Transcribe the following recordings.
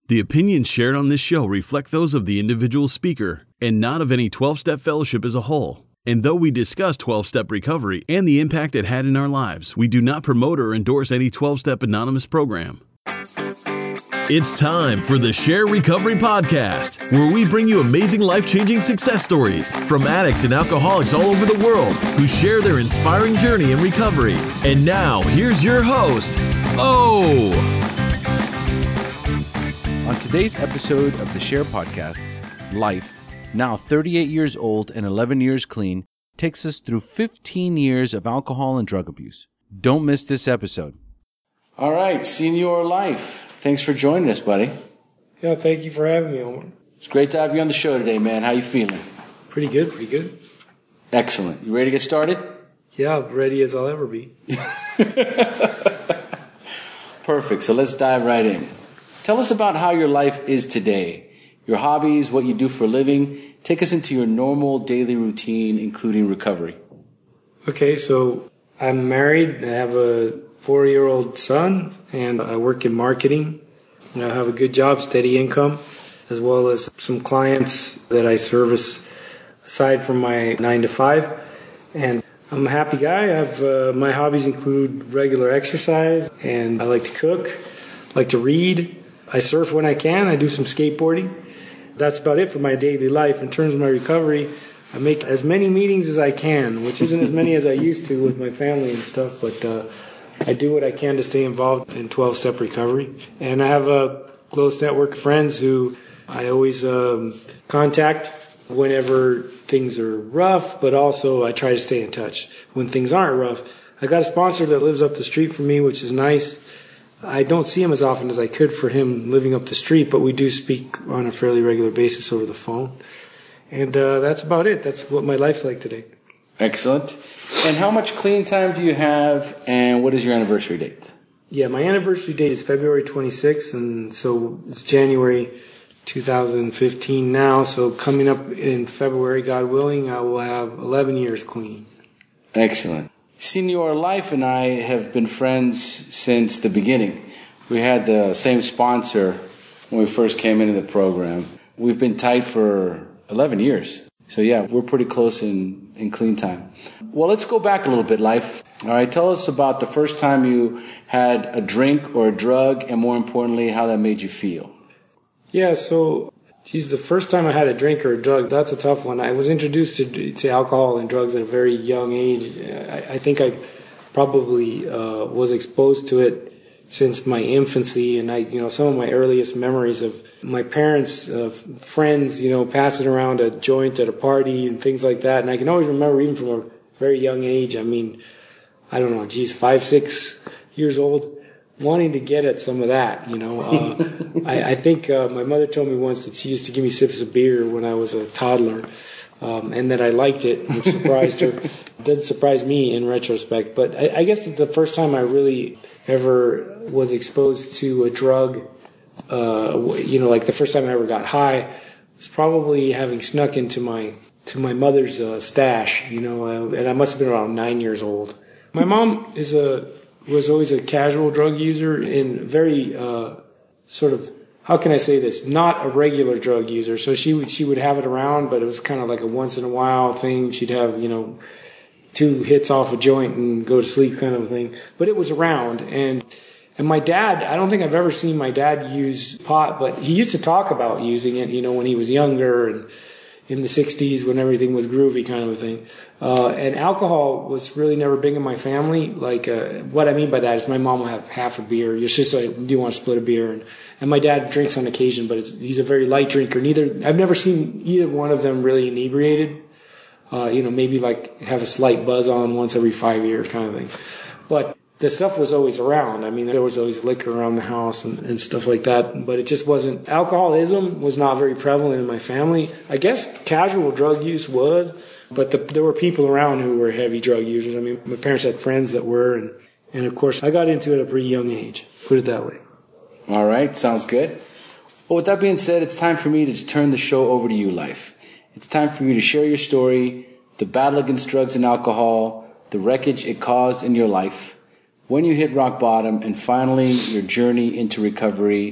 The opinions shared on this show reflect those of the individual speaker and not of any 12-Step Fellowship as a whole. And though we discuss 12-Step recovery and the impact it had in our lives, we do not promote or endorse any 12-Step Anonymous program. It's time for the Share Recovery Podcast, where we bring you amazing life-changing success stories from addicts and alcoholics all over the world who share their inspiring journey in recovery. And now, here's your host, O. On today's episode of the Share Podcast, Life, now 38 years old and 11 years clean, takes us through 15 years of alcohol and drug abuse. Don't miss this episode. All right, Senior Life. Thanks for joining us, buddy. Yeah, thank you for having me, Owen. It's great to have you on the show today, man. How you feeling? Pretty good. Excellent. You ready to get started? Yeah, ready as I'll ever be. Perfect. So let's dive right in. Tell us about how your life is today, your hobbies, what you do for a living. Take us into your normal daily routine, including recovery. Okay, so I'm married. I have a 4-year-old son, and I work in marketing. I have a good job, steady income, as well as some clients that I service aside from my 9 to 5. And I'm a happy guy. I have my hobbies include regular exercise, and I like to cook, I like to read. I surf when I can. I do some skateboarding. That's about it for my daily life. In terms of my recovery, I make as many meetings as I can, which isn't as many as I used to with my family and stuff, but I do what I can to stay involved in 12-step recovery. And I have a close network of friends who I always contact whenever things are rough, but also I try to stay in touch when things aren't rough. I got a sponsor that lives up the street from me, which is nice. I don't see him as often as I could for him living up the street, but we do speak on a fairly regular basis over the phone. And that's about it. That's what my life's like today. Excellent. And how much clean time do you have, and what is your anniversary date? Yeah, my anniversary date is February 26th, and so it's January 2015 now. So coming up in February, God willing, I will have 11 years clean. Excellent. Senior Life and I have been friends since the beginning. We had the same sponsor when we first came into the program. We've been tight for 11 years. So yeah, we're pretty close in clean time. Well, let's go back a little bit, Life. All right, tell us about the first time you had a drink or a drug, and more importantly, how that made you feel. Yeah, so, the first time I had a drink or a drug, that's a tough one. I was introduced to alcohol and drugs at a very young age. I think I probably was exposed to it since my infancy, and some of my earliest memories of my parents' friends, passing around a joint at a party and things like that. And I can always remember, even from a very young age, I don't know, 5, 6 years old, wanting to get at some of that, I think my mother told me once that she used to give me sips of beer when I was a toddler, and that I liked it, which surprised her. It didn't surprise me in retrospect, but I guess the first time I really ever was exposed to a drug, like the first time I ever got high, was probably having snuck into my mother's stash, and I must have been around 9 years old. My mom was always a casual drug user and very sort of, how can I say this, not a regular drug user. So she would have it around, but it was kind of like a once in a while thing. She'd have 2 hits off a joint and go to sleep kind of thing. But it was around. And my dad, I don't think I've ever seen my dad use pot, but he used to talk about using it, when he was younger and in the 60s when everything was groovy kind of a thing. And alcohol was really never big in my family. What I mean by that is my mom will have half a beer. Your sister, do you want to split a beer? And my dad drinks on occasion, but he's a very light drinker. I've never seen either one of them really inebriated. Maybe have a slight buzz on once every 5 years kind of thing. But the stuff was always around. There was always liquor around the house and stuff like that. But it just wasn't, alcoholism was not very prevalent in my family. I guess casual drug use was, but there were people around who were heavy drug users. My parents had friends that were, and of course I got into it at a pretty young age, put it that way. All right, sounds good. Well, with that being said, it's time for me to turn the show over to you, Life. It's time for you to share your story, the battle against drugs and alcohol, the wreckage it caused in your life, when you hit rock bottom, and finally your journey into recovery.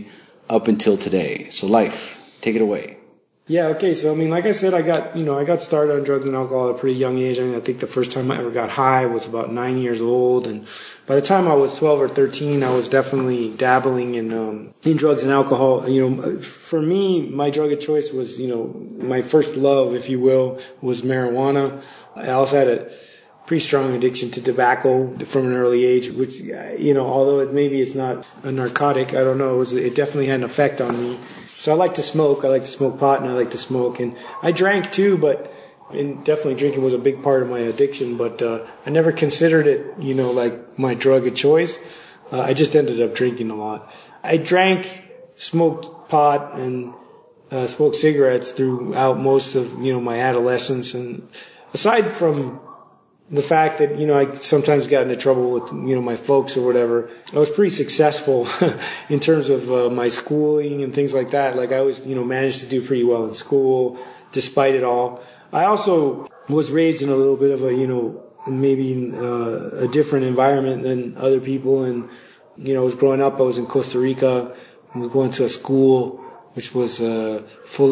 up until today. So life, take it away. Yeah, okay. So, I mean, like I said, I got started on drugs and alcohol at a pretty young age. I mean, I think the first time I ever got high was about 9 years old. And by the time I was 12 or 13, I was definitely dabbling in drugs and alcohol. You know, for me, my drug of choice was, you know, my first love, if you will, was marijuana. I also had a pretty strong addiction to tobacco from an early age, which, you know, although maybe it's not a narcotic, I don't know, it definitely had an effect on me. So I like to smoke. I like to smoke pot, and I like to smoke. And I drank too, and definitely drinking was a big part of my addiction. But I never considered it, you know, like my drug of choice. I just ended up drinking a lot. I drank, smoked pot, and smoked cigarettes throughout most of, you know, my adolescence. And aside from the fact that, you know, I sometimes got into trouble with, you know, my folks or whatever, I was pretty successful in terms of my schooling and things like that. Like I always, you know, managed to do pretty well in school despite it all. I also was raised in a little bit of a, you know, maybe a different environment than other people. And, you know, I was growing up, I was in Costa Rica. I was going to a school which was full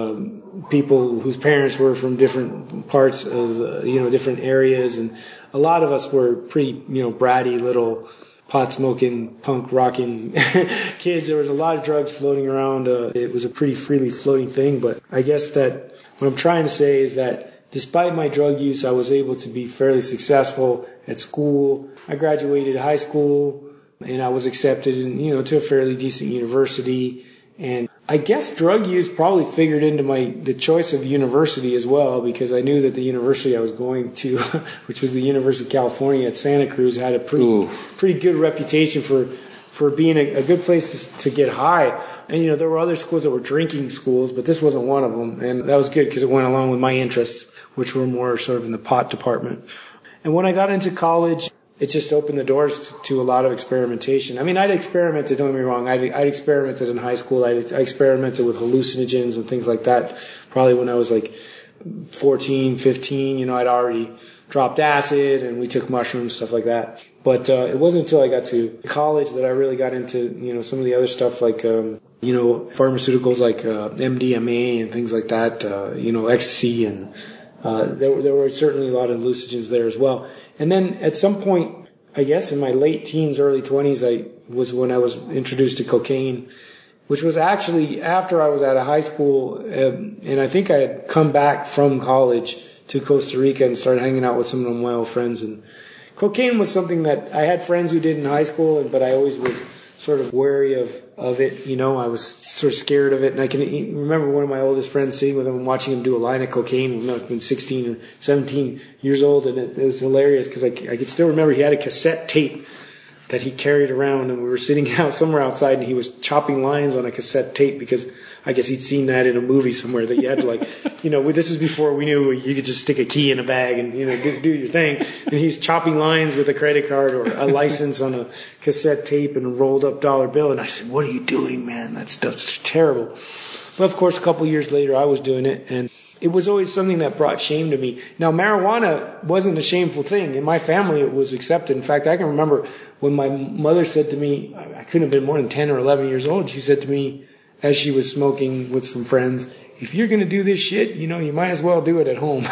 of people whose parents were from different parts of, you know, different areas. And a lot of us were pretty, you know, bratty little pot-smoking, punk-rocking kids. There was a lot of drugs floating around. It was a pretty freely floating thing. But I guess that what I'm trying to say is that despite my drug use, I was able to be fairly successful at school. I graduated high school, and I was accepted in, you know, to a fairly decent university. And I guess drug use probably figured into the choice of university as well, because I knew that the university I was going to, which was the University of California at Santa Cruz, had a pretty good reputation for being a good place to get high. And, you know, there were other schools that were drinking schools, but this wasn't one of them. And that was good because it went along with my interests, which were more sort of in the pot department. And when I got into college, it just opened the doors to a lot of experimentation. I mean, I'd experimented, don't get me wrong, I'd experimented in high school. I experimented with hallucinogens and things like that. Probably when I was like 14, 15, you know, I'd already dropped acid and we took mushrooms, stuff like that. But it wasn't until I got to college that I really got into, you know, some of the other stuff like, you know, pharmaceuticals like MDMA and things like that, you know, ecstasy. And there were certainly a lot of hallucinogens there as well. And then at some point, I guess in my late teens, early 20s, was when I was introduced to cocaine, which was actually after I was out of high school. And I think I had come back from college to Costa Rica and started hanging out with some of my old friends. And cocaine was something that I had friends who did in high school, but I always was sort of wary of it. You know, I was sort of scared of it. And I can remember one of my oldest friends sitting with him and watching him do a line of cocaine. You know, I've been 16 or 17 years old, and it was hilarious because I could still remember he had a cassette tape that he carried around, and we were sitting out somewhere outside, and he was chopping lines on a cassette tape because I guess he'd seen that in a movie somewhere that you had to, like, you know, this was before we knew you could just stick a key in a bag and, you know, do your thing. And he's chopping lines with a credit card or a license on a cassette tape and a rolled up dollar bill. And I said, "What are you doing, man? That stuff's terrible." But of course, a couple of years later, I was doing it, and it was always something that brought shame to me. Now, marijuana wasn't a shameful thing. In my family, it was accepted. In fact, I can remember when my mother said to me, I couldn't have been more than 10 or 11 years old, she said to me, as she was smoking with some friends, "If you're going to do this shit, you know, you might as well do it at home."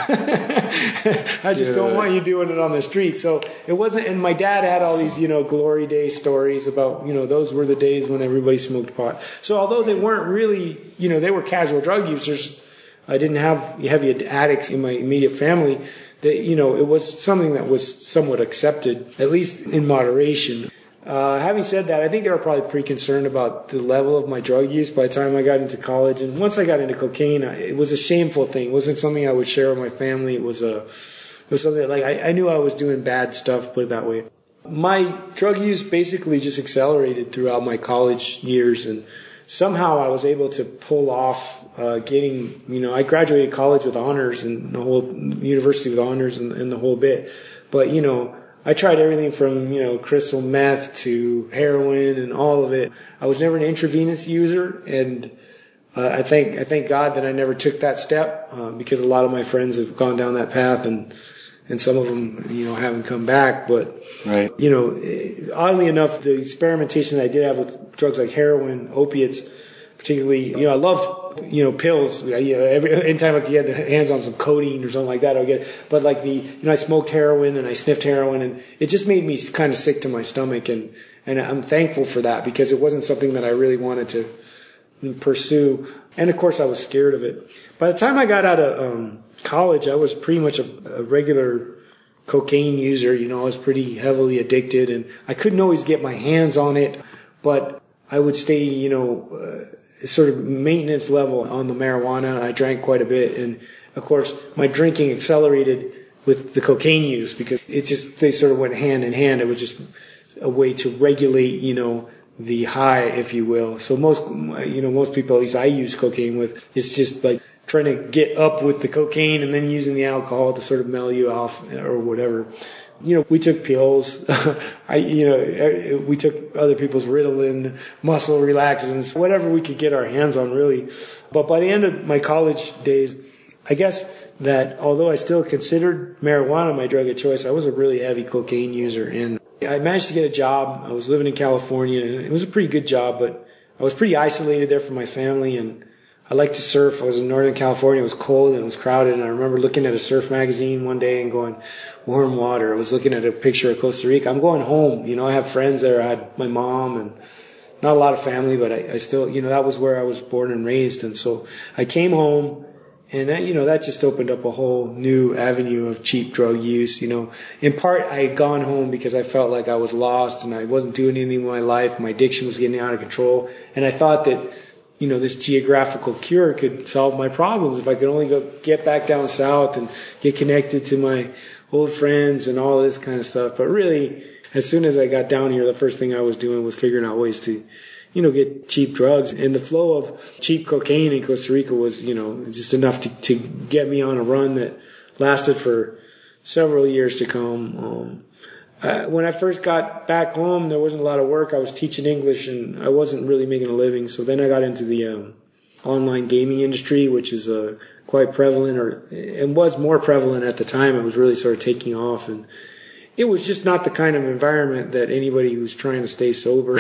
I just don't want you doing it on the street. So it wasn't, and my dad had all these, you know, glory day stories about, you know, those were the days when everybody smoked pot. So although they weren't really, you know, they were casual drug users, I didn't have heavy addicts in my immediate family. That, you know, it was something that was somewhat accepted, at least in moderation. Having said that, I think they were probably pretty concerned about the level of my drug use by the time I got into college. And once I got into cocaine, it was a shameful thing. It wasn't something I would share with my family. It was something that, like, I knew I was doing bad stuff, put it that way. My drug use basically just accelerated throughout my college years, and somehow I was able to pull off getting, you know, I graduated college with honors and the whole university with honors and the whole bit. But, you know, I tried everything from, you know, crystal meth to heroin and all of it. I was never an intravenous user, and I thank God that I never took that step because a lot of my friends have gone down that path and and some of them, haven't come back. But, right. Oddly enough, the experimentation that I did have with drugs like heroin, opiates, particularly, I loved, pills. Anytime I could get hands on some codeine or something like that, I would get it. But like I smoked heroin and I sniffed heroin, and it just made me kind of sick to my stomach. And I'm thankful for that, because it wasn't something that I really wanted to pursue. And of course I was scared of it. By the time I got out of college, I was pretty much a regular cocaine user. I was pretty heavily addicted, and I couldn't always get my hands on it, but I would stay, sort of maintenance level on the marijuana. I drank quite a bit, and of course my drinking accelerated with the cocaine use, because they sort of went hand in hand. It was just a way to regulate, the high, if you will. So most people, at least I use cocaine with, it's just like trying to get up with the cocaine and then using the alcohol to sort of mellow you off or whatever. We took pills. We took other people's Ritalin, muscle relaxants, whatever we could get our hands on, really. But by the end of my college days, I guess that although I still considered marijuana my drug of choice, I was a really heavy cocaine user, and I managed to get a job. I was living in California, and it was a pretty good job, but I was pretty isolated there from my family, and I liked to surf. I was in Northern California. It was cold and it was crowded, and I remember looking at a surf magazine one day and going, warm water. I was looking at a picture of Costa Rica. I'm going home. I have friends there. I had my mom and not a lot of family, but I still, that was where I was born and raised. And so I came home, and that just opened up a whole new avenue of cheap drug use. In part, I had gone home because I felt like I was lost and I wasn't doing anything with my life. My addiction was getting out of control, and I thought that this geographical cure could solve my problems if I could only get back down south and get connected to my old friends and all this kind of stuff. But really, as soon as I got down here, the first thing I was doing was figuring out ways to, get cheap drugs. And the flow of cheap cocaine in Costa Rica was, just enough to get me on a run that lasted for several years to come. When I first got back home, there wasn't a lot of work. I was teaching English, and I wasn't really making a living. So then I got into the online gaming industry, which is quite prevalent, and was more prevalent at the time. It was really sort of taking off, and it was just not the kind of environment that anybody who's trying to stay sober.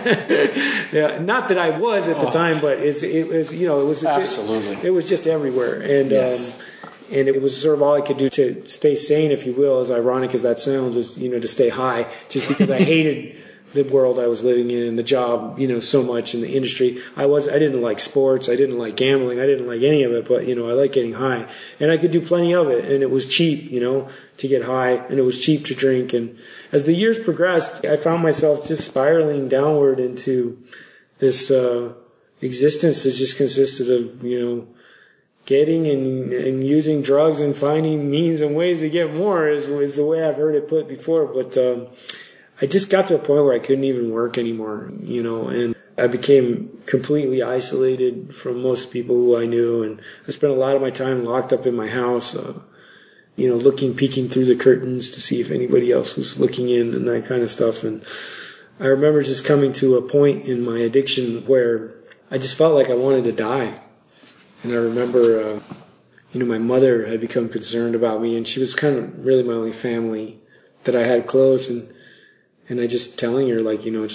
Yeah, not that I was at the time, but it was absolutely. It was just everywhere, and. Yes. And it was sort of all I could do to stay sane, if you will, as ironic as that sounds, was, to stay high, just because I hated the world I was living in and the job, so much in the industry. I didn't like sports. I didn't like gambling. I didn't like any of it, but, I like getting high. And I could do plenty of it. And it was cheap, to get high, and it was cheap to drink. And as the years progressed, I found myself just spiraling downward into this, existence that just consisted of, getting and using drugs and finding means and ways to get more is the way I've heard it put before. But I just got to a point where I couldn't even work anymore, and I became completely isolated from most people who I knew. And I spent a lot of my time locked up in my house, peeking through the curtains to see if anybody else was looking in and that kind of stuff. And I remember just coming to a point in my addiction where I just felt like I wanted to die. And I remember, my mother had become concerned about me, and she was kind of really my only family that I had close. And I just telling her,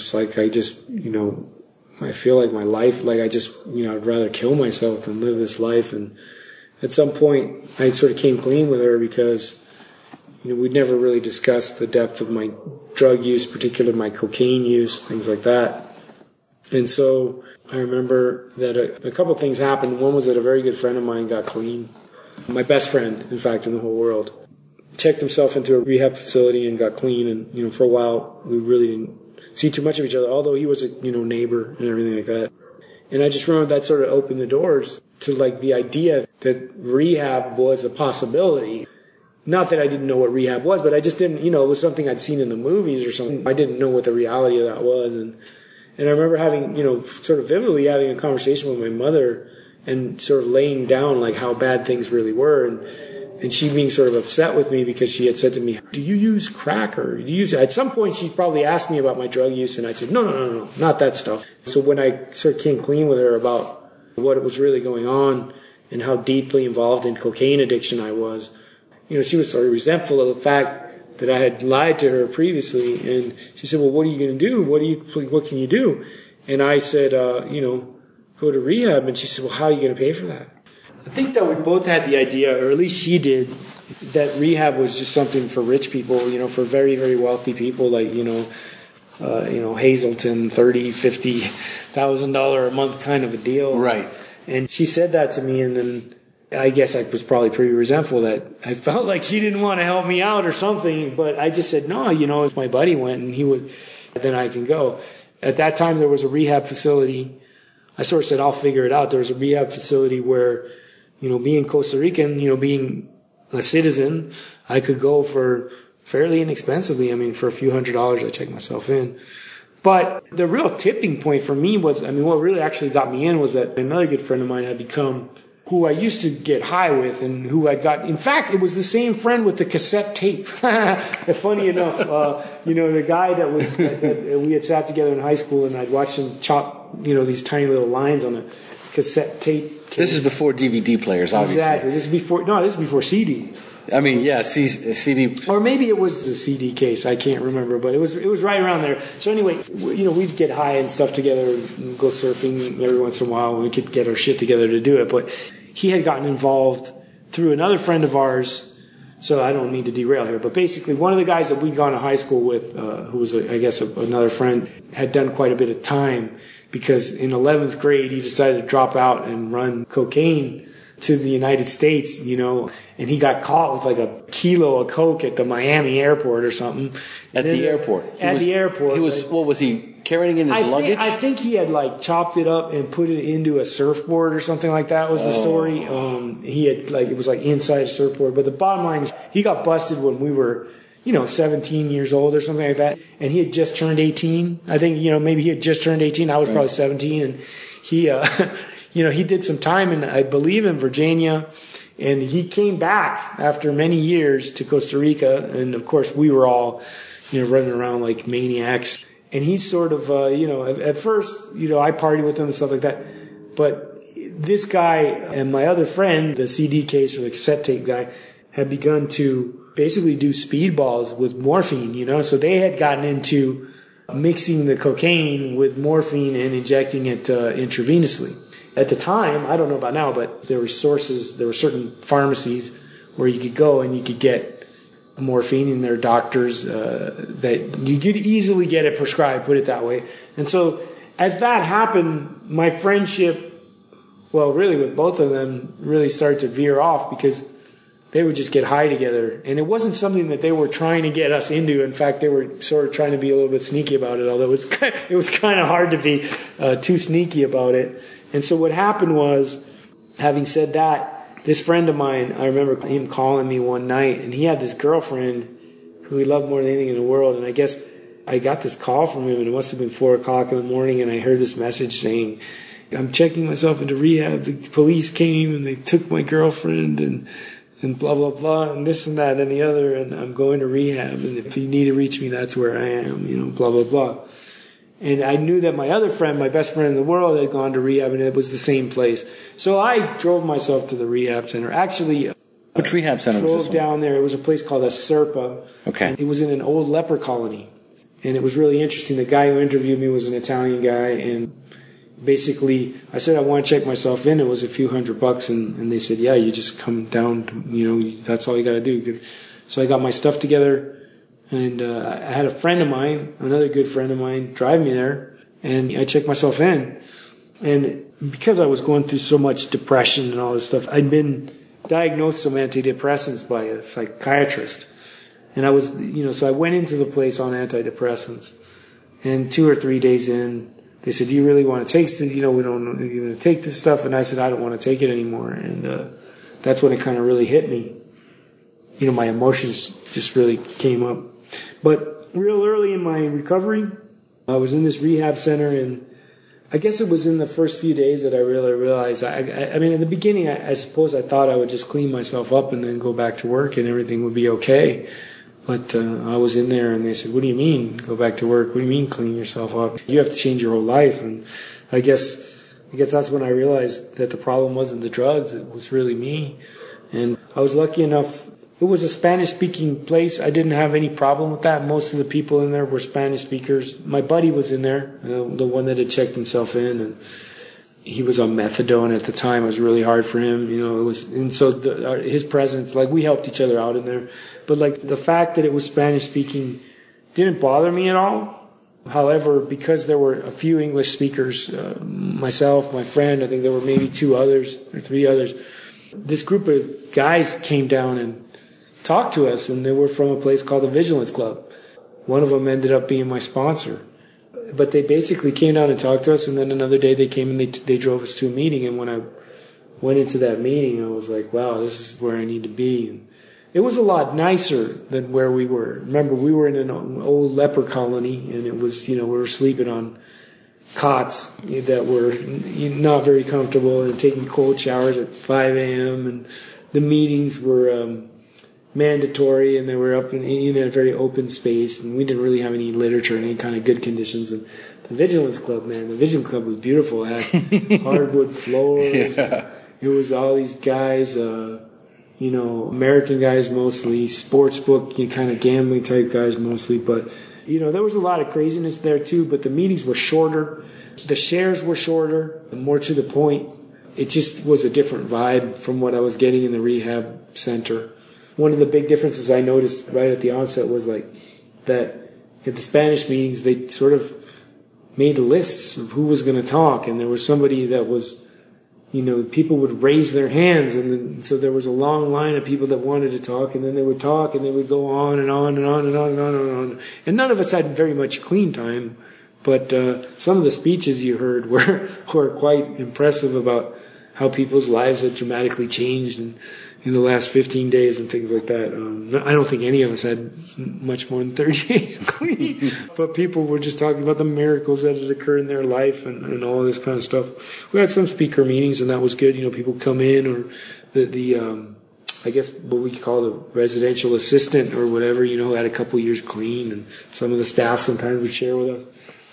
I feel like my life, I'd rather kill myself than live this life. And at some point, I sort of came clean with her because, we'd never really discussed the depth of my drug use, particularly my cocaine use, things like that. And so I remember that a couple of things happened. One was that a very good friend of mine got clean. My best friend, in fact, in the whole world. Checked himself into a rehab facility and got clean. And, for a while, we really didn't see too much of each other, although he was a, neighbor and everything like that. And I just remember that sort of opened the doors to, the idea that rehab was a possibility. Not that I didn't know what rehab was, but I just didn't, it was something I'd seen in the movies or something. I didn't know what the reality of that was. And I remember having, sort of vividly having a conversation with my mother and sort of laying down how bad things really were. And she being sort of upset with me because she had said to me, do you use crack or do you use it? At some point she probably asked me about my drug use, and I said, no, not that stuff. So when I sort of came clean with her about what was really going on and how deeply involved in cocaine addiction I was, she was sort of resentful of the fact that I had lied to her previously. And she said, well, what are you going to do? What can you do? And I said, go to rehab. And she said, well, how are you going to pay for that? I think that we both had the idea, or at least she did, that rehab was just something for rich people, for very, very wealthy people, like, Hazelton, $30,000, $50,000 a month kind of a deal. Right. And she said that to me, and then I guess I was probably pretty resentful that I felt like she didn't want to help me out or something, but I just said, no, if my buddy went and he would, then I can go. At that time, there was a rehab facility. I sort of said, I'll figure it out. There was a rehab facility where, being Costa Rican, being a citizen, I could go for fairly inexpensively. I mean, for a few $100s, I checked myself in. But the real tipping point for me was, what really actually got me in was that another good friend of mine had become who I used to get high with, and who I got. In fact, it was the same friend with the cassette tape. Funny enough, the guy that we had sat together in high school, and I'd watched him chop, these tiny little lines on a cassette tape. This is before DVD players, obviously. Exactly. This is before CD. CD. Or maybe it was the CD case. I can't remember, but it was right around there. So anyway, we'd get high and stuff together and go surfing every once in a while. We could get our shit together to do it. But he had gotten involved through another friend of ours. So I don't mean to derail here, but basically one of the guys that we'd gone to high school with, who was, another friend, had done quite a bit of time because in 11th grade he decided to drop out and run cocaine to the United States, and he got caught with like a kilo of coke at the Miami airport or something. At the airport? He was, what was he carrying in his luggage? I think he had chopped it up and put it into a surfboard or something like that was the story. He had it was inside a surfboard. But the bottom line is he got busted when we were, 17 years old or something like that. And he had just turned 18. I think, maybe he had just turned 18. I was probably 17. And he, he did some time in, I believe, in Virginia. And he came back after many years to Costa Rica. And of course, we were all, running around like maniacs. And he sort of, at first, I partied with him and stuff like that. But this guy and my other friend, the CD case or the cassette tape guy, had begun to basically do speedballs with morphine, So they had gotten into mixing the cocaine with morphine and injecting it intravenously. At the time, I don't know about now, but there were certain pharmacies where you could go and you could get morphine, and there are doctors that you could easily get it prescribed, put it that way. And so as that happened, my friendship, really with both of them, really started to veer off because they would just get high together. And it wasn't something that they were trying to get us into. In fact, they were sort of trying to be a little bit sneaky about it, although it was kind of hard to be too sneaky about it. And so what happened was, having said that, this friend of mine, I remember him calling me one night, and he had this girlfriend who he loved more than anything in the world. And I guess I got this call from him, and it must have been 4 o'clock in the morning, and I heard this message saying, I'm checking myself into rehab. The police came, and they took my girlfriend, and blah, blah, blah, and this and that and the other, and I'm going to rehab, and if you need to reach me, that's where I am, blah, blah, blah. And I knew that my other friend, my best friend in the world, had gone to rehab, and it was the same place. So I drove myself to the rehab center. Actually, which rehab center was this one? Down there. It was a place called Aserpa. Okay. It was in an old leper colony. And it was really interesting. The guy who interviewed me was an Italian guy, and basically, I said I want to check myself in. It was a few $100, and they said, yeah, you just come down, that's all you got to do. So I got my stuff together, and I had a friend of mine, another good friend of mine, drive me there, and I checked myself in. And because I was going through so much depression and all this stuff, I'd been diagnosed some antidepressants by a psychiatrist. And I was, so I went into the place on antidepressants, and 2 or 3 days in, they said, do you really want to take this? We don't know if you're going to take this stuff. And I said, I don't want to take it anymore. And that's when it kind of really hit me. My emotions just really came up. But real early in my recovery, I was in this rehab center, and I guess it was in the first few days that I really realized, I mean, in the beginning, I suppose I thought I would just clean myself up and then go back to work and everything would be okay. But I was in there, and they said, what do you mean, go back to work? What do you mean, clean yourself up? You have to change your whole life. And I guess that's when I realized that the problem wasn't the drugs. It was really me. And I was lucky enough it was a Spanish-speaking place. I didn't have any problem with that. Most of the people in there were Spanish speakers. My buddy was in there, the one that had checked himself in, and he was on methadone at the time. It was really hard for him, and so his presence, like, we helped each other out in there. But like, the fact that it was Spanish-speaking didn't bother me at all. However, because there were a few English speakers, myself, my friend, I think there were maybe 2 others or 3 others, this group of guys came down and talked to us, and they were from a place called the Vigilance Club. One of them ended up being my sponsor. But they basically came down and talked to us, and then another day they came and they drove us to a meeting. And when I went into that meeting, I was like, wow, this is where I need to be. And it was a lot nicer than where we were. Remember, we were in an old leper colony, and it was, we were sleeping on cots that were not very comfortable and taking cold showers at 5 a.m. And the meetings were mandatory, and they were up in a very open space, and we didn't really have any literature, any kind of good conditions. And the Vigilance Club, man, the Vigilance Club was beautiful. It had hardwood floors. Yeah. It was all these guys, American guys mostly, sports book, kind of gambling type guys mostly. But, there was a lot of craziness there too, but the meetings were shorter. The shares were shorter, more to the point. It just was a different vibe from what I was getting in the rehab center. One of the big differences I noticed right at the onset was like that at the Spanish meetings, they sort of made lists of who was going to talk, and there was somebody that was, people would raise their hands, and then, so there was a long line of people that wanted to talk, and then they would talk, and they would go on and on and on and on and on and on. And none of us had very much clean time, but some of the speeches you heard were quite impressive about how people's lives had dramatically changed in the last 15 days and things like that. I don't think any of us had much more than 30 days clean, but people were just talking about the miracles that had occurred in their life and all this kind of stuff. We had some speaker meetings, and that was good. People come in, or the I guess what we call the residential assistant or whatever, had a couple years clean, and some of the staff sometimes would share with us.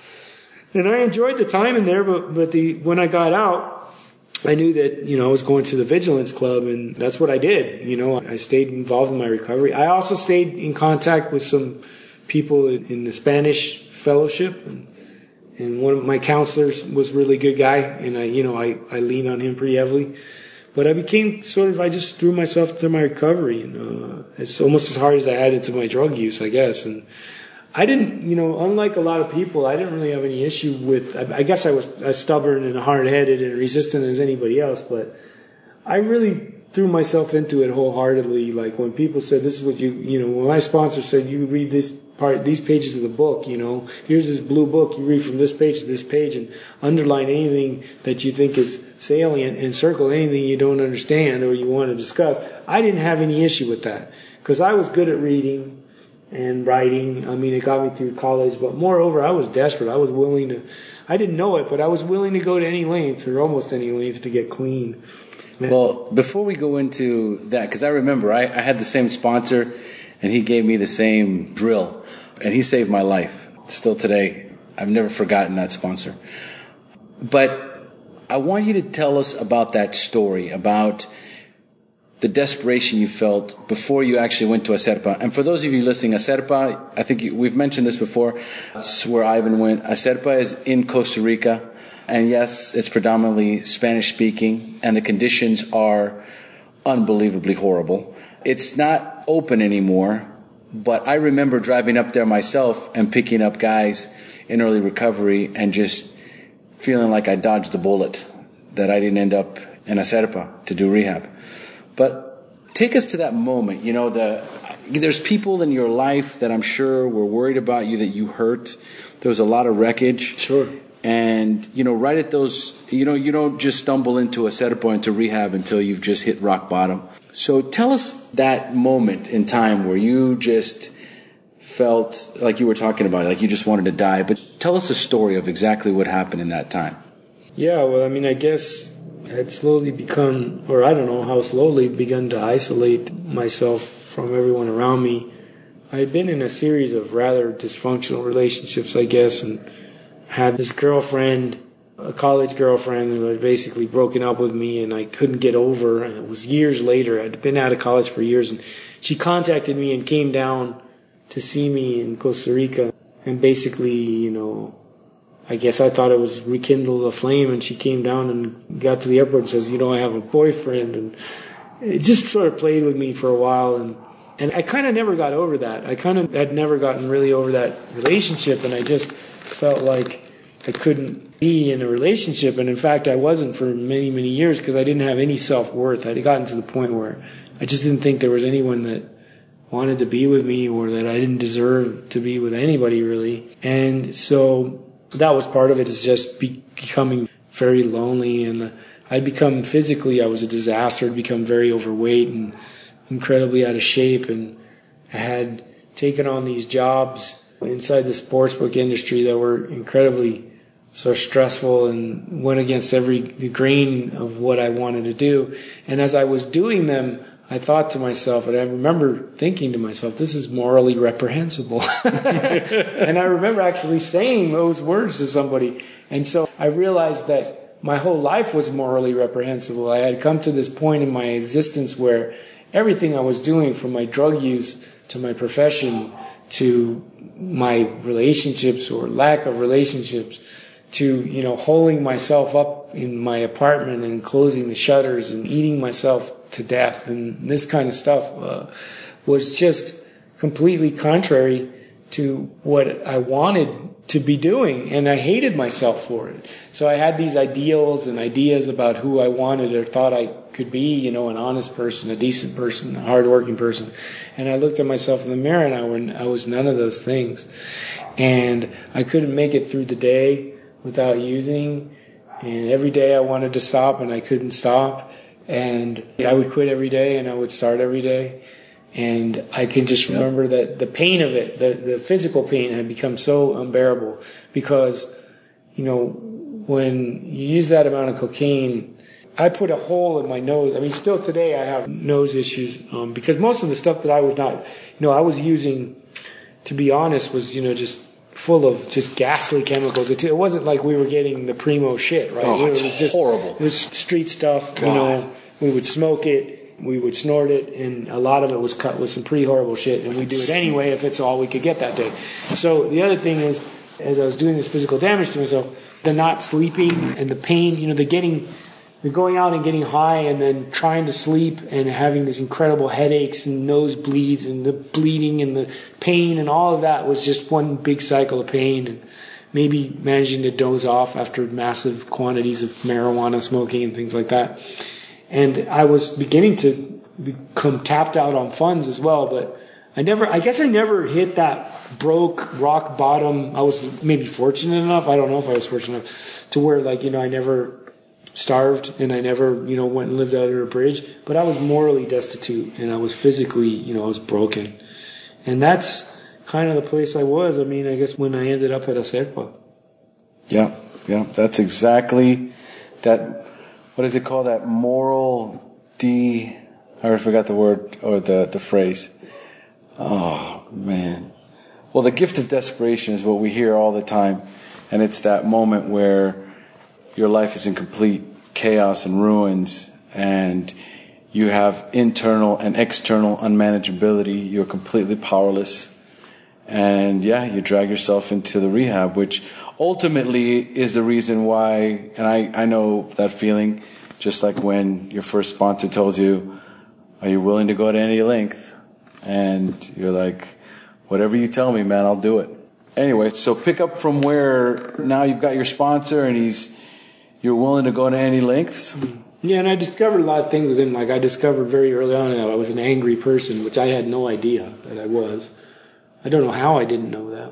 And I enjoyed the time in there, but when I got out, I knew that, I was going to the Vigilance Club, and that's what I did. I stayed involved in my recovery. I also stayed in contact with some people in the Spanish fellowship, and one of my counselors was a really good guy, and I leaned on him pretty heavily. But I became I just threw myself into my recovery, and it's almost as hard as I had into my drug use, I guess. And I didn't, unlike a lot of people, I didn't really have any issue with, I guess I was as stubborn and hard-headed and resistant as anybody else, but I really threw myself into it wholeheartedly. Like when people said, this is what when my sponsor said, you read these pages of the book, here's this blue book, you read from this page to this page and underline anything that you think is salient and circle anything you don't understand or you want to discuss. I didn't have any issue with that because I was good at reading and writing. I mean, it got me through college, but moreover, I was desperate. I was willing to, I didn't know it, but I was willing to go to any length or almost any length to get clean. Man. Well, before we go into that, because I remember I had the same sponsor and he gave me the same drill and he saved my life. Still today, I've never forgotten that sponsor. But I want you to tell us about that story, about the desperation you felt before you actually went to Acerpa. And for those of you listening, Acerpa, I think we've mentioned this before, it's where Ivan went. Acerpa is in Costa Rica. And yes, it's predominantly Spanish speaking, and the conditions are unbelievably horrible. It's not open anymore, but I remember driving up there myself and picking up guys in early recovery and just feeling like I dodged a bullet, that I didn't end up in Acerpa to do rehab. But take us to that moment. There's people in your life that I'm sure were worried about you, that you hurt. There was a lot of wreckage. Sure. And, right at those, you don't just stumble into Acerpa, into rehab until you've just hit rock bottom. So tell us that moment in time where you just felt like you were talking about, like you just wanted to die. But tell us a story of exactly what happened in that time. Yeah, well, I mean, I guess I had slowly become, or I don't know how slowly, begun to isolate myself from everyone around me. I had been in a series of rather dysfunctional relationships, I guess, and had this girlfriend a college girlfriend who had basically broken up with me and I couldn't get over. And it was years later. I'd been out of college for years, and she contacted me and came down to see me in Costa Rica. And basically, you know, I guess I thought it was rekindled a flame, and she came down and got to the airport and says, you know, I have a boyfriend. And it just sort of played with me for a while. And I kind of never got over that. I kind of had never gotten really over that relationship, and I just felt like I couldn't be in a relationship. And in fact, I wasn't for many, many years because I didn't have any self-worth. I'd gotten to the point where I just didn't think there was anyone that wanted to be with me, or that I didn't deserve to be with anybody really. And so that was part of it, is just becoming very lonely. And I'd become physically, I was a disaster. I'd become very overweight and incredibly out of shape. And I had taken on these jobs inside the sportsbook industry that were incredibly so stressful and went against the grain of what I wanted to do. And as I was doing them, I thought to myself, and I remember thinking to myself, this is morally reprehensible. And I remember actually saying those words to somebody. And so I realized that my whole life was morally reprehensible. I had come to this point in my existence where everything I was doing, from my drug use to my profession to my relationships or lack of relationships, to, you know, holding myself up in my apartment and closing the shutters and eating myself to death and this kind of stuff, was just completely contrary to what I wanted to be doing, and I hated myself for it. So I had these ideals and ideas about who I wanted or thought I could be, you know, an honest person, a decent person, a hardworking person. And I looked at myself in the mirror and I was none of those things. And I couldn't make it through the day without using, and every day I wanted to stop and I couldn't stop. And I would quit every day and I would start every day. And I can just remember that the pain of it, the physical pain, had become so unbearable because, you know, when you use that amount of cocaine, I put a hole in my nose. I mean, still today I have nose issues because most of the stuff that I was not, you know, I was using, to be honest, was, you know, just full of just ghastly chemicals. It wasn't like we were getting the primo shit, right? Oh, it's just horrible. It was street stuff. God. You know, we would smoke it, we would snort it, and a lot of it was cut with some pretty horrible shit, and we'd do it anyway if it's all we could get that day. So the other thing is, as I was doing this physical damage to myself, the not sleeping and the pain, you know, the going out and getting high and then trying to sleep and having these incredible headaches and nosebleeds and the bleeding and the pain and all of that was just one big cycle of pain, and maybe managing to doze off after massive quantities of marijuana smoking and things like that. And I was beginning to become tapped out on funds as well, but I guess I never hit that broke rock bottom. I was maybe fortunate enough, I don't know if I was fortunate enough, to where, like, you know, I never starved and I never, you know, went and lived under a bridge, but I was morally destitute and I was physically, you know, I was broken. And that's kind of the place I was, I mean, I guess when I ended up at Acerpa. Yeah, that's exactly that. What is it called? That moral I forgot the word or the phrase. Oh, man. Well, the gift of desperation is what we hear all the time. And it's that moment where your life is in complete chaos and ruins, and you have internal and external unmanageability. You're completely powerless. And yeah, you drag yourself into the rehab, which ultimately is the reason why, and I know that feeling, just like when your first sponsor tells you, are you willing to go to any length? And you're like, whatever you tell me, man, I'll do it. Anyway, so pick up from where now you've got your sponsor and you're willing to go to any lengths. Yeah, and I discovered a lot of things with him. Like, I discovered very early on that I was an angry person, which I had no idea that I was. I don't know how I didn't know that,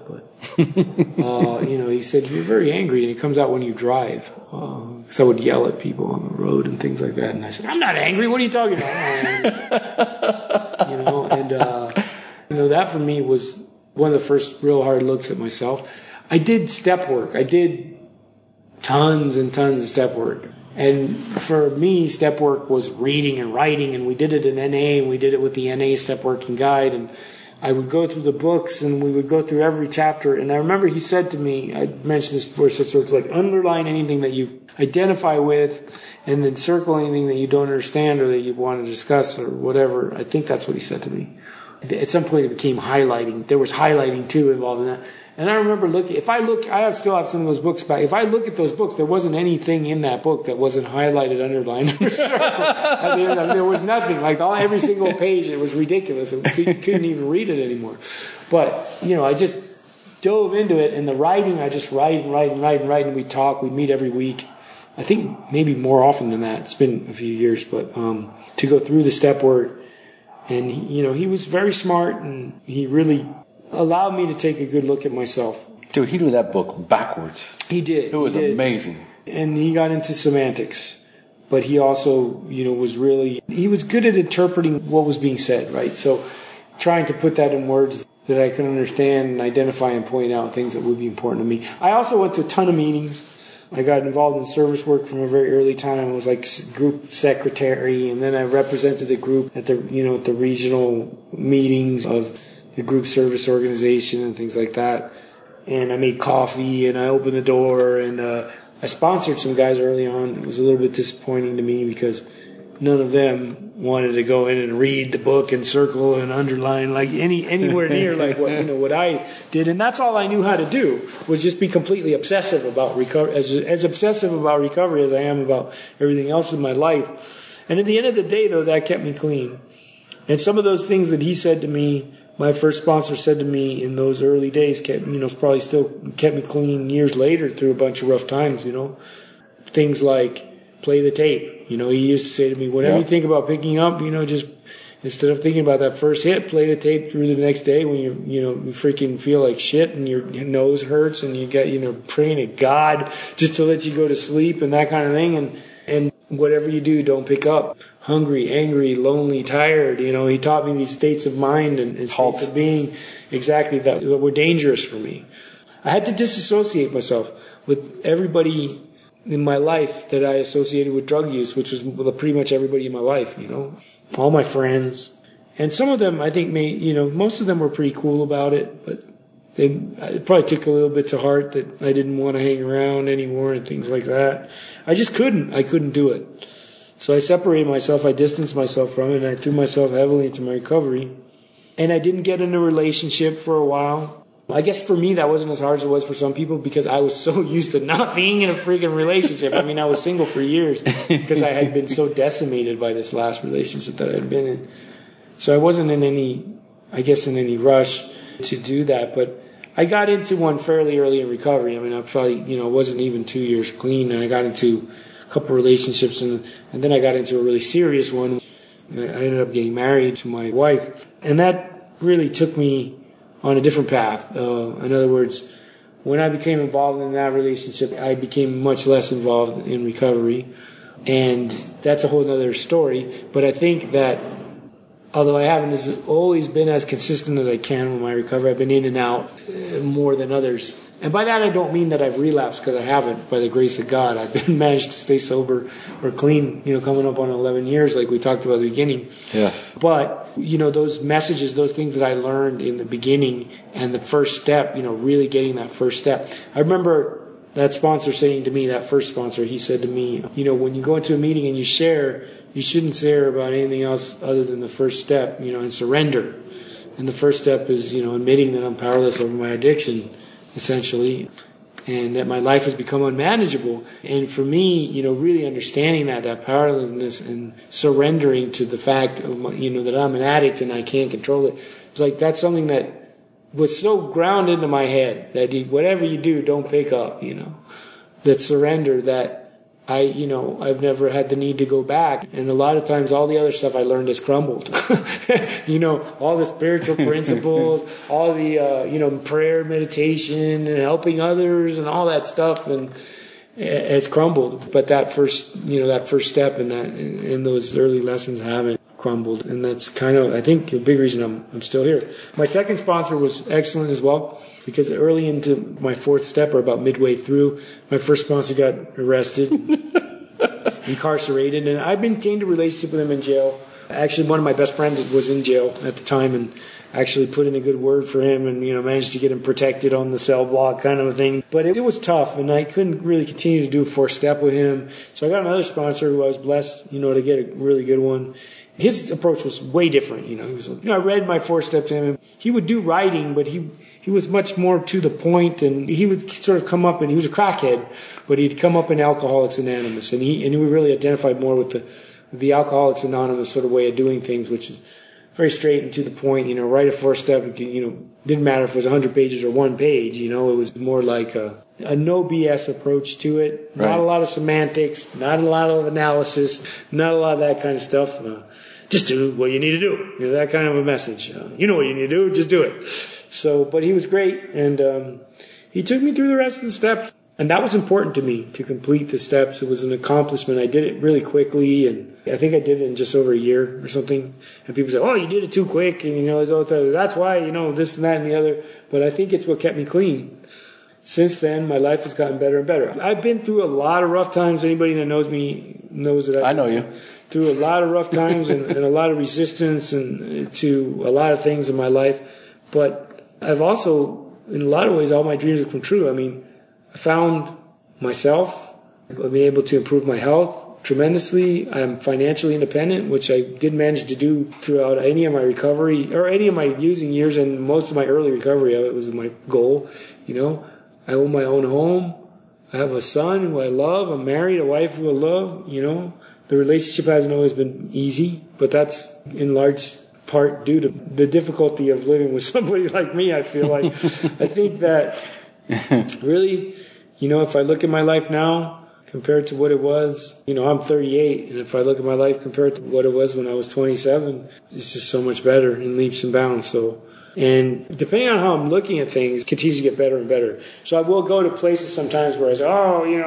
but, you know, he said, you're very angry, and it comes out when you drive. Because I would yell at people on the road and things like that. And I said, I'm not angry. What are you talking about? You know, and, you know, that for me was one of the first real hard looks at myself. I did step work. I did tons and tons of step work. And for me, step work was reading and writing, and we did it in NA, and we did it with the NA Step Working Guide, and I would go through the books and we would go through every chapter. And I remember he said to me, I mentioned this before, so it's like underline anything that you identify with and then circle anything that you don't understand or that you want to discuss or whatever. I think that's what he said to me. At some point it became highlighting. There was highlighting too involved in that. And I remember looking, I still have some of those books back. If I look at those books, there wasn't anything in that book that wasn't highlighted, underlined, or I mean, there was nothing. Like every single page, it was ridiculous. You couldn't even read it anymore. But, I just dove into it. And the writing, I just write. And we'd talk. We'd meet every week. I think maybe more often than that. It's been a few years. But to go through the step work. And, he was very smart and he really allowed me to take a good look at myself. Dude, he knew that book backwards. He did. It was amazing. And he got into semantics. But he also, he was good at interpreting what was being said, right? So trying to put that in words that I could understand and identify and point out things that would be important to me. I also went to a ton of meetings. I got involved in service work from a very early time. I was like group secretary, and then I represented the group at the regional meetings of the group service organization and things like that. And I made coffee and I opened the door and I sponsored some guys early on. It was a little bit disappointing to me because none of them wanted to go in and read the book and circle and underline like anywhere near like what I did. And that's all I knew how to do was just be completely obsessive about recovery, as obsessive about recovery as I am about everything else in my life. And at the end of the day, though, that kept me clean. And some of those things that he said to me, my first sponsor said to me in those early days, probably still kept me clean years later through a bunch of rough times, Things like play the tape. He used to say to me, whatever you think about picking up, just instead of thinking about that first hit, play the tape through the next day when you freaking feel like shit and your nose hurts and you get, praying to God just to let you go to sleep and that kind of thing. And whatever you do, don't pick up. Hungry, angry, lonely, tired. He taught me these states of mind and states of being exactly that were dangerous for me. I had to disassociate myself with everybody in my life that I associated with drug use, which was pretty much everybody in my life, all my friends. And some of them, I think, most of them were pretty cool about it, but it probably took a little bit to heart that I didn't want to hang around anymore and things like that. I just couldn't. I couldn't do it. So I separated myself, I distanced myself from it, and I threw myself heavily into my recovery. And I didn't get in a relationship for a while. I guess for me that wasn't as hard as it was for some people because I was so used to not being in a freaking relationship. I mean, I was single for years because I had been so decimated by this last relationship that I had been in. So I wasn't in any rush to do that. But I got into one fairly early in recovery. I mean, I probably, wasn't even 2 years clean, and I got into couple relationships and then I got into a really serious one. I ended up getting married to my wife, and that really took me on a different path. In other words, when I became involved in that relationship, I became much less involved in recovery, and that's a whole other story. But I think that although I haven't always been as consistent as I can with my recovery, I've been in and out more than others. And by that I don't mean that I've relapsed, because I haven't, by the grace of God. I've been managed to stay sober or clean, coming up on 11 years like we talked about at the beginning. Yes. But, those messages, those things that I learned in the beginning and the first step, really getting that first step. I remember that sponsor saying to me, that first sponsor, he said to me, when you go into a meeting and you share, you shouldn't share about anything else other than the first step, and surrender. And the first step is, admitting that I'm powerless over my addiction, essentially, and that my life has become unmanageable. And for me, really understanding that powerlessness and surrendering to the fact of, that I'm an addict and I can't control it. It's like that's something that was so ground into my head that whatever you do, don't pick up, that surrender, that I've never had the need to go back. And a lot of times all the other stuff I learned has crumbled. All the spiritual principles, all the, prayer, meditation, and helping others and all that stuff, and it's crumbled. But that first step in those early lessons haven't crumbled. And that's kind of, I think, a big reason I'm still here. My second sponsor was excellent as well, because early into my fourth step, or about midway through, my first sponsor got arrested, incarcerated, and I maintained a relationship with him in jail. Actually, one of my best friends was in jail at the time, and actually put in a good word for him and, managed to get him protected on the cell block kind of a thing. But it was tough, and I couldn't really continue to do a 4-step with him. So I got another sponsor who I was blessed, to get a really good one. His approach was way different, He was, I read my 4-step to him. He would do writing, but he was much more to the point, and he would sort of come up, and he was a crackhead, but he'd come up in Alcoholics Anonymous, and he would really identify more with the Alcoholics Anonymous sort of way of doing things, which is very straight and to the point, write a 4-step, didn't matter if it was 100 pages or 1 page, it was more like a no BS approach to it. Right. Not a lot of semantics, not a lot of analysis, not a lot of that kind of stuff. Just do what you need to do. That kind of a message. You know what you need to do, just do it. So, but he was great, and he took me through the rest of the steps. And that was important to me, to complete the steps. It was an accomplishment. I did it really quickly, and I think I did it in just over a year or something. And people say, oh, you did it too quick, and, that's why, this and that and the other. But I think it's what kept me clean. Since then, my life has gotten better and better. I've been through a lot of rough times. Anybody that knows me knows that I know you. Through a lot of rough times and a lot of resistance and to a lot of things in my life. But I've also, in a lot of ways, all my dreams have come true. I mean, I found myself. I've been able to improve my health tremendously. I'm financially independent, which I did manage to do throughout any of my recovery or any of my using years, and most of my early recovery. It was my goal. I own my own home. I have a son who I love. I'm married, a wife who I love. The relationship hasn't always been easy, but that's in large part due to the difficulty of living with somebody like me, I feel like. I think that really, if I look at my life now compared to what it was, I'm 38, and if I look at my life compared to what it was when I was 27, it's just so much better in leaps and bounds. And depending on how I'm looking at things, it continues to get better and better. So I will go to places sometimes where I say,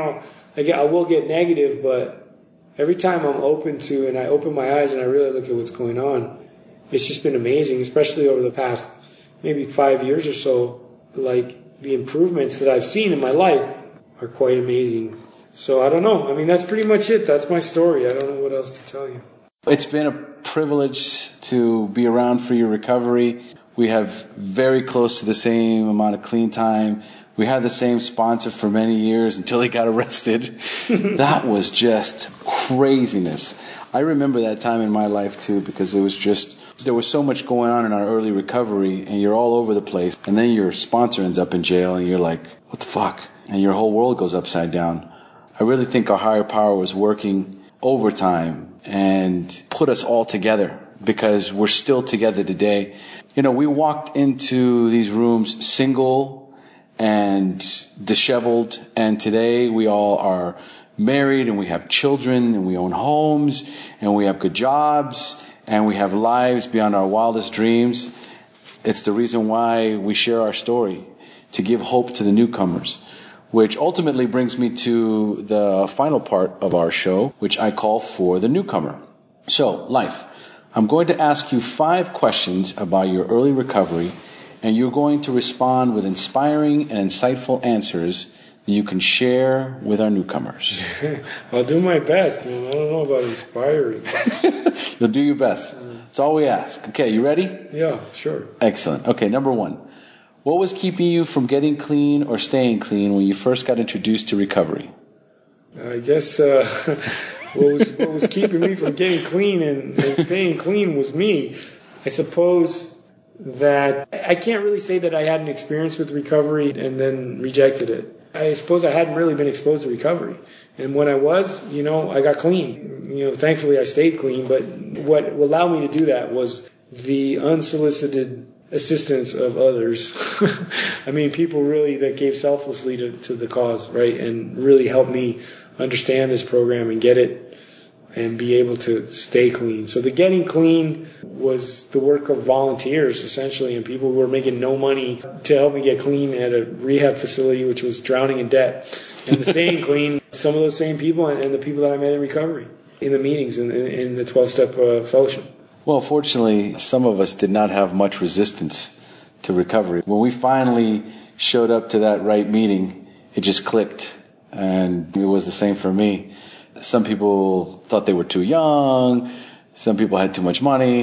I will get negative, but every time I'm open to, and I open my eyes and I really look at what's going on, it's just been amazing, especially over the past maybe 5 years or so. Like, the improvements that I've seen in my life are quite amazing. So I don't know. I mean, that's pretty much it. That's my story. I don't know what else to tell you. It's been a privilege to be around for your recovery. We have very close to the same amount of clean time. We had the same sponsor for many years until he got arrested. That was just craziness. I remember that time in my life too, because it was just, there was so much going on in our early recovery, and you're all over the place. And then your sponsor ends up in jail, and you're like, what the fuck? And your whole world goes upside down. I really think our higher power was working overtime and put us all together, because we're still together today. We walked into these rooms single and disheveled, and today we all are married, and we have children, and we own homes, and we have good jobs, and we have lives beyond our wildest dreams. It's the reason why we share our story, to give hope to the newcomers, which ultimately brings me to the final part of our show, which I call For the Newcomer. So, Life, I'm going to ask you 5 questions about your early recovery, and you're going to respond with inspiring and insightful answers that you can share with our newcomers. I'll do my best, man. I don't know about inspiring. You'll do your best. That's all we ask. Okay, you ready? Yeah, sure. Excellent. Okay, number 1. What was keeping you from getting clean or staying clean when you first got introduced to recovery? I guess what was keeping me from getting clean and staying clean was me. I suppose that I can't really say that I had an experience with recovery and then rejected it. I suppose I hadn't really been exposed to recovery. And when I was, I got clean. Thankfully I stayed clean. But what allowed me to do that was the unsolicited assistance of others. I mean, people really that gave selflessly to the cause, right? And really helped me understand this program and get it and be able to stay clean. So the getting clean was the work of volunteers, essentially, and people who were making no money to help me get clean at a rehab facility, which was drowning in debt. And the staying clean, some of those same people and the people that I met in recovery, in the meetings, in the 12-step fellowship. Well, fortunately, some of us did not have much resistance to recovery. When we finally showed up to that right meeting, it just clicked, and it was the same for me. Some people thought they were too young. Some people had too much money.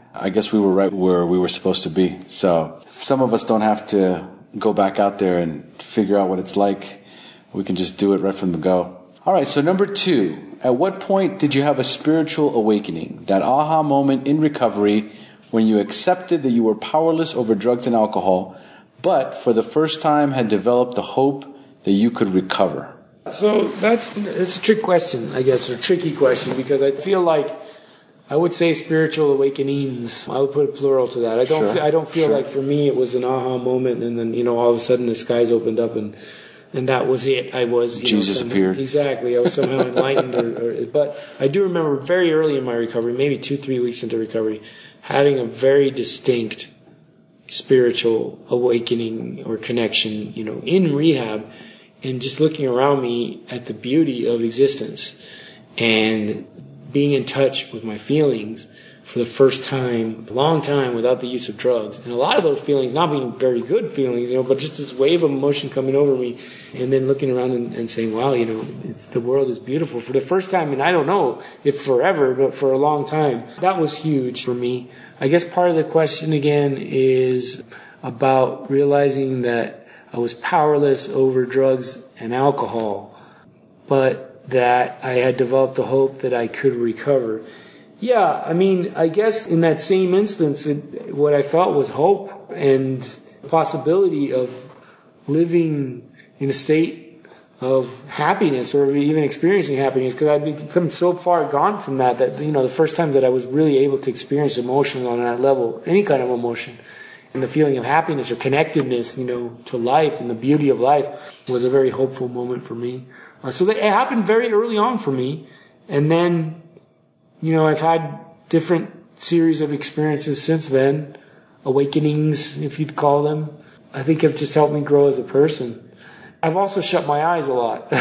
I guess we were right where we were supposed to be. So some of us don't have to go back out there and figure out what it's like. We can just do it right from the go. All right, so number 2, at what point did you have a spiritual awakening, that aha moment in recovery when you accepted that you were powerless over drugs and alcohol, but for the first time had developed the hope that you could recover? So it's a trick question, I guess, or a tricky question, because I feel like I would say spiritual awakenings. I would put a plural to that. I don't feel like for me it was an aha moment, and then all of a sudden the skies opened up and that was it. I was Jesus appeared. Exactly. I was somehow enlightened. But I do remember very early in my recovery, maybe 2-3 weeks into recovery, having a very distinct spiritual awakening or connection, in rehab, and just looking around me at the beauty of existence and being in touch with my feelings for the first time, a long time, without the use of drugs. And a lot of those feelings not being very good feelings, but just this wave of emotion coming over me, and then looking around and saying, wow, the world is beautiful for the first time. And I don't know if forever, but for a long time. That was huge for me. I guess part of the question again is about realizing that I was powerless over drugs and alcohol, but that I had developed the hope that I could recover. Yeah, I guess in that same instance, what I felt was hope and possibility of living in a state of happiness, or even experiencing happiness, because I'd become so far gone from that the first time that I was really able to experience emotion on that level, any kind of emotion, and the feeling of happiness or connectedness, to life and the beauty of life, was a very hopeful moment for me. So it happened very early on for me. And then, I've had different series of experiences since then, awakenings, if you'd call them. I think have just helped me grow as a person. I've also shut my eyes a lot.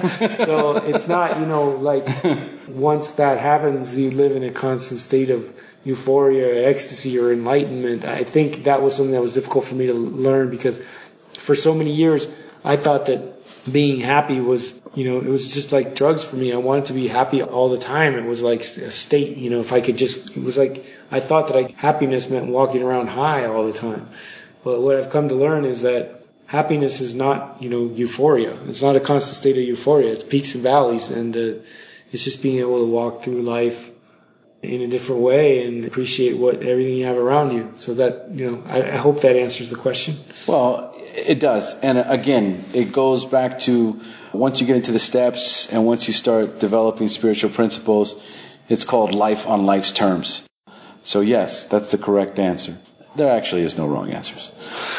So it's not, like once that happens, you live in a constant state of euphoria or ecstasy or enlightenment. I think that was something that was difficult for me to learn, because for so many years I thought that being happy was, it was just like drugs for me. I wanted to be happy all the time. It was like a state, if I could just, it was like, I thought that happiness meant walking around high all the time. But what I've come to learn is that happiness is not, euphoria. It's not a constant state of euphoria. It's peaks and valleys. And it's just being able to walk through life in a different way and appreciate everything you have around you. So that, I hope that answers the question. Well, it does. And again, it goes back to once you get into the steps and once you start developing spiritual principles, it's called life on life's terms. So yes, that's the correct answer. There actually is no wrong answers.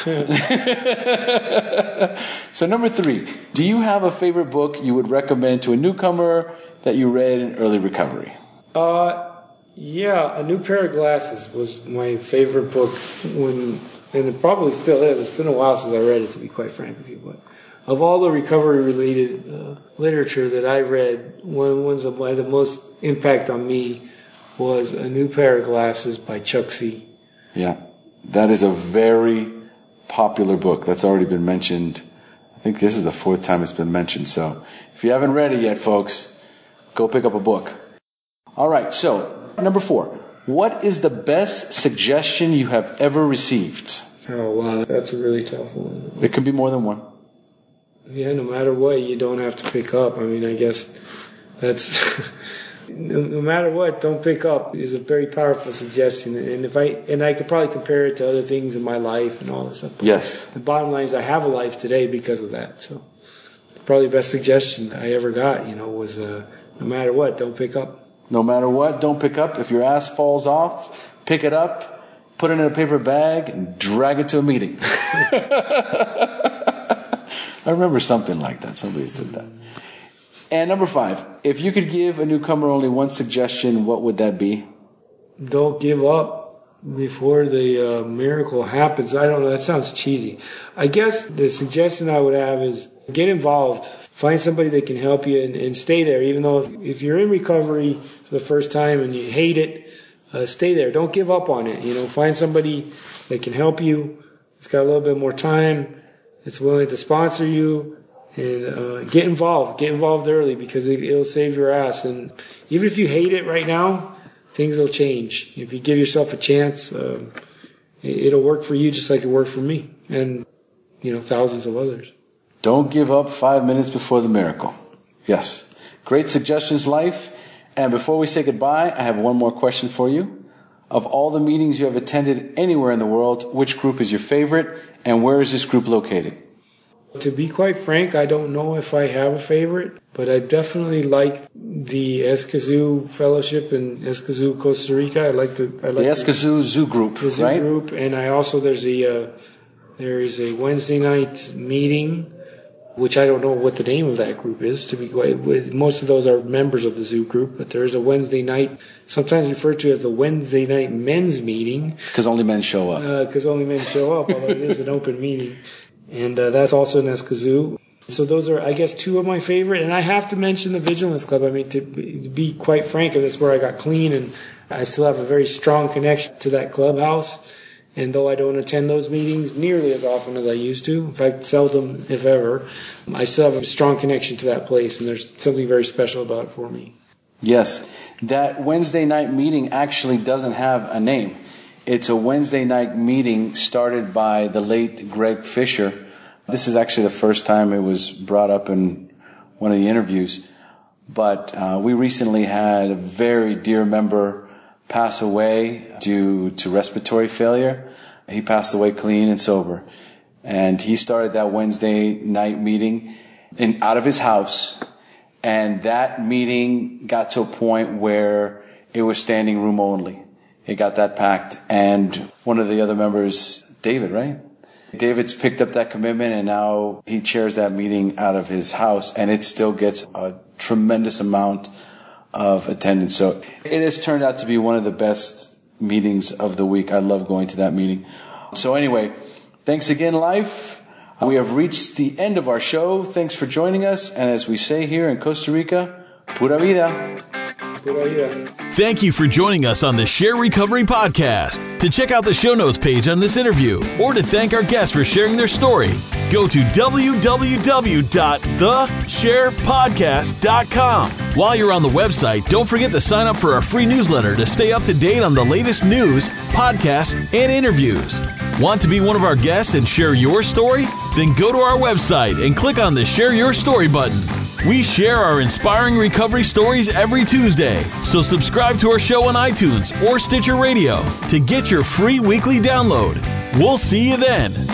So number 3, do you have a favorite book you would recommend to a newcomer that you read in early recovery? Yeah, A New Pair of Glasses was my favorite book and it probably still is. It's been a while since I read it, to be quite frank with you. But of all the recovery-related literature that I read, ones that had the most impact on me was A New Pair of Glasses by Chuck C. Yeah, that is a very popular book. That's already been mentioned. I think this is the 4th time it's been mentioned. So if you haven't read it yet, folks, go pick up a book. All right, so number 4. What is the best suggestion you have ever received? Oh, wow, that's a really tough one. It could be more than one. Yeah, no matter what, you don't have to pick up. I guess that's... no matter what, don't pick up is a very powerful suggestion. And I could probably compare it to other things in my life and all this stuff. But yes. The bottom line is I have a life today because of that. So probably the best suggestion I ever got, was no matter what, don't pick up. No matter what, don't pick up. If your ass falls off, pick it up, put it in a paper bag, and drag it to a meeting. I remember something like that. Somebody said that. And number 5, if you could give a newcomer only one suggestion, what would that be? Don't give up before the miracle happens. I don't know. That sounds cheesy. I guess the suggestion I would have is get involved. Find somebody that can help you and stay there. Even though if you're in recovery for the first time and you hate it, stay there. Don't give up on it. Find somebody that can help you. It's got a little bit more time. It's willing to sponsor you. And get involved. Get involved early because it'll save your ass. And even if you hate it right now, things will change. If you give yourself a chance, it'll work for you just like it worked for me and, thousands of others. Don't give up 5 minutes before the miracle. Yes. Great suggestions, Life. And before we say goodbye, I have one more question for you. Of all the meetings you have attended anywhere in the world, which group is your favorite, and where is this group located? To be quite frank, I don't know if I have a favorite, but I definitely like the Escazú Fellowship in Escazú, Costa Rica. I like the Escazú Zoo Group, the Zoo right? Group, and I also there is a Wednesday night meeting, which I don't know what the name of that group is. To be quite, most of those are members of the Zoo Group, but there is a Wednesday night, sometimes referred to as the Wednesday night men's meeting, because only men show up. Although it is an open meeting. And that's also in Escazú. So those are, I guess, two of my favorite. And I have to mention the Vigilance Club. I mean, to be quite frank, that's where I got clean. And I still have a very strong connection to that clubhouse. And though I don't attend those meetings nearly as often as I used to, in fact, seldom, if ever, I still have a strong connection to that place. And there's something very special about it for me. Yes. That Wednesday night meeting actually doesn't have a name. It's a Wednesday night meeting started by the late Greg Fisher. This is actually the first time it was brought up in one of the interviews. But we recently had a very dear member pass away due to respiratory failure. He passed away clean and sober. And he started that Wednesday night meeting out of his house. And that meeting got to a point where it was standing room only. It got that packed. And one of the other members, David, right? David's picked up that commitment, and now he chairs that meeting out of his house, and it still gets a tremendous amount of attendance. So it has turned out to be one of the best meetings of the week. I love going to that meeting. So anyway, thanks again, Life. We have reached the end of our show. Thanks for joining us. And as we say here in Costa Rica, pura vida. Thank you for joining us on the Share Recovery Podcast. To check out the show notes page on this interview or to thank our guests for sharing their story, go to www.thesharepodcast.com. While you're on the website, don't forget to sign up for our free newsletter to stay up to date on the latest news, podcasts, and interviews. Want to be one of our guests and share your story? Then go to our website and click on the Share Your Story button. We share our inspiring recovery stories every Tuesday, so subscribe to our show on iTunes or Stitcher Radio to get your free weekly download. We'll see you then.